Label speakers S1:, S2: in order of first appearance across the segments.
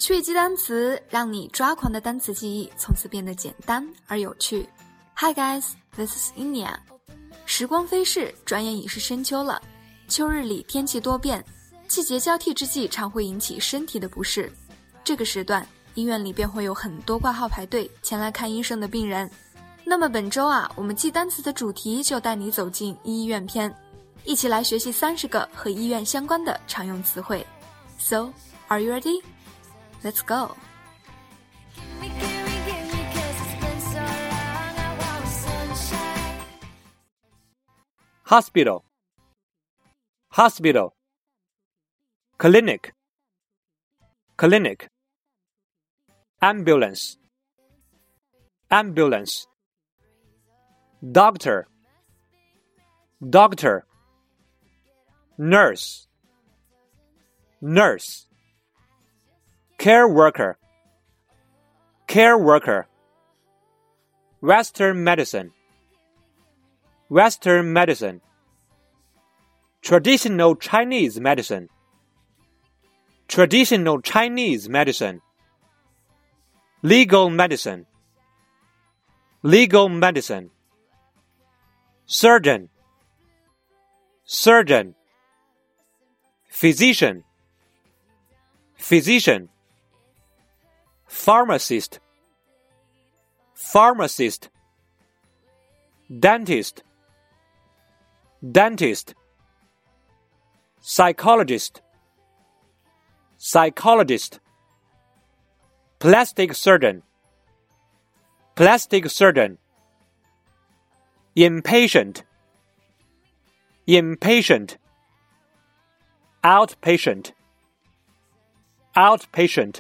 S1: 趣记单词，让你抓狂的单词记忆从此变得简单而有趣。Hi guys, this is Inia。 时光飞逝，转眼已是深秋了。秋日里天气多变，季节交替之际常会引起身体的不适。这个时段，医院里便会有很多挂号排队前来看医生的病人。那么本周我们记单词的主题就带你走进医院篇，一起来学习30个和医院相关的常用词汇。So, are you ready? Let's go!
S2: Hospital, hospital. Clinic, clinic. Ambulance, ambulance. Doctor, doctor. Nurse, nurse. Care worker, care worker. Western medicine, Western medicine. Traditional Chinese medicine, traditional Chinese medicine. Legal medicine, legal medicine. Surgeon, surgeon. Physician, physician. Pharmacist, pharmacist. Dentist, dentist. Psychologist, psychologist. Plastic surgeon, plastic surgeon. Inpatient, inpatient. Outpatient, outpatient.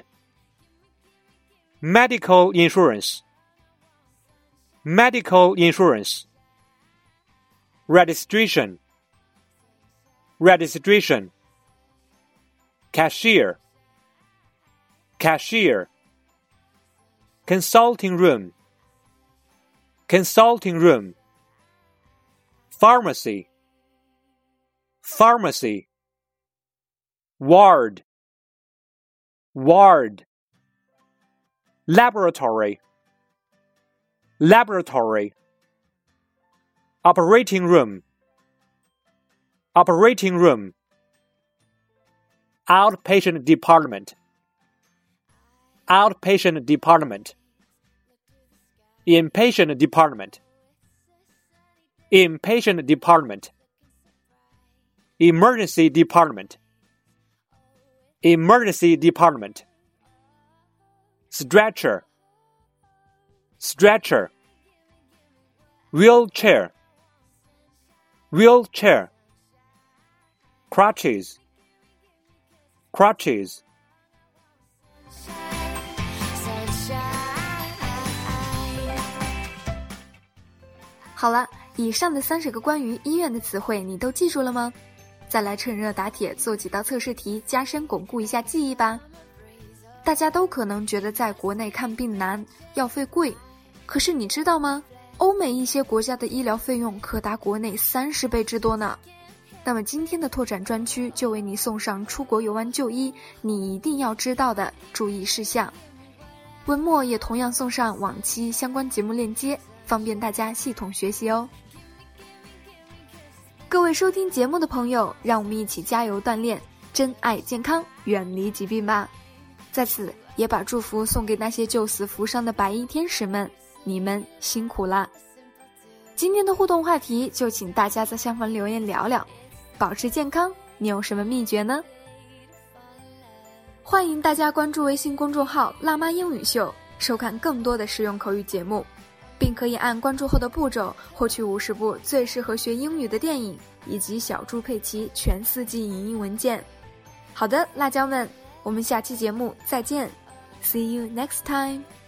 S2: Medical insurance, medical insurance. Registration, registration. Cashier, cashier. Consulting room, consulting room. Pharmacy, pharmacy. Ward, ward. Laboratory, laboratory. Operating room, operating room. Outpatient department, outpatient department. Inpatient department, inpatient department. Emergency department, emergency department. Stretcher, stretcher. Wheelchair, wheelchair. Crutches, crutches.
S1: 好了，以上的30个关于医院的词汇你都记住了吗？再来趁热打铁做几道测试题，加深巩固一下记忆吧。大家都可能觉得在国内看病难，药费贵，可是你知道吗？欧美一些国家的医疗费用可达国内30倍之多呢。那么今天的拓展专区就为你送上出国游玩就医你一定要知道的注意事项。文末也同样送上往期相关节目链接，方便大家系统学习哦。各位收听节目的朋友，让我们一起加油锻炼，珍爱健康，远离疾病吧。在此也把祝福送给那些救死扶伤的白衣天使们，你们辛苦啦。今天的互动话题就请大家在下方留言聊聊，保持健康你有什么秘诀呢？欢迎大家关注微信公众号辣妈英语秀，收看更多的实用口语节目，并可以按关注后的步骤获取50部最适合学英语的电影，以及小猪佩奇全4季影音文件。好的，辣椒们，我们下期节目再见。See you next time.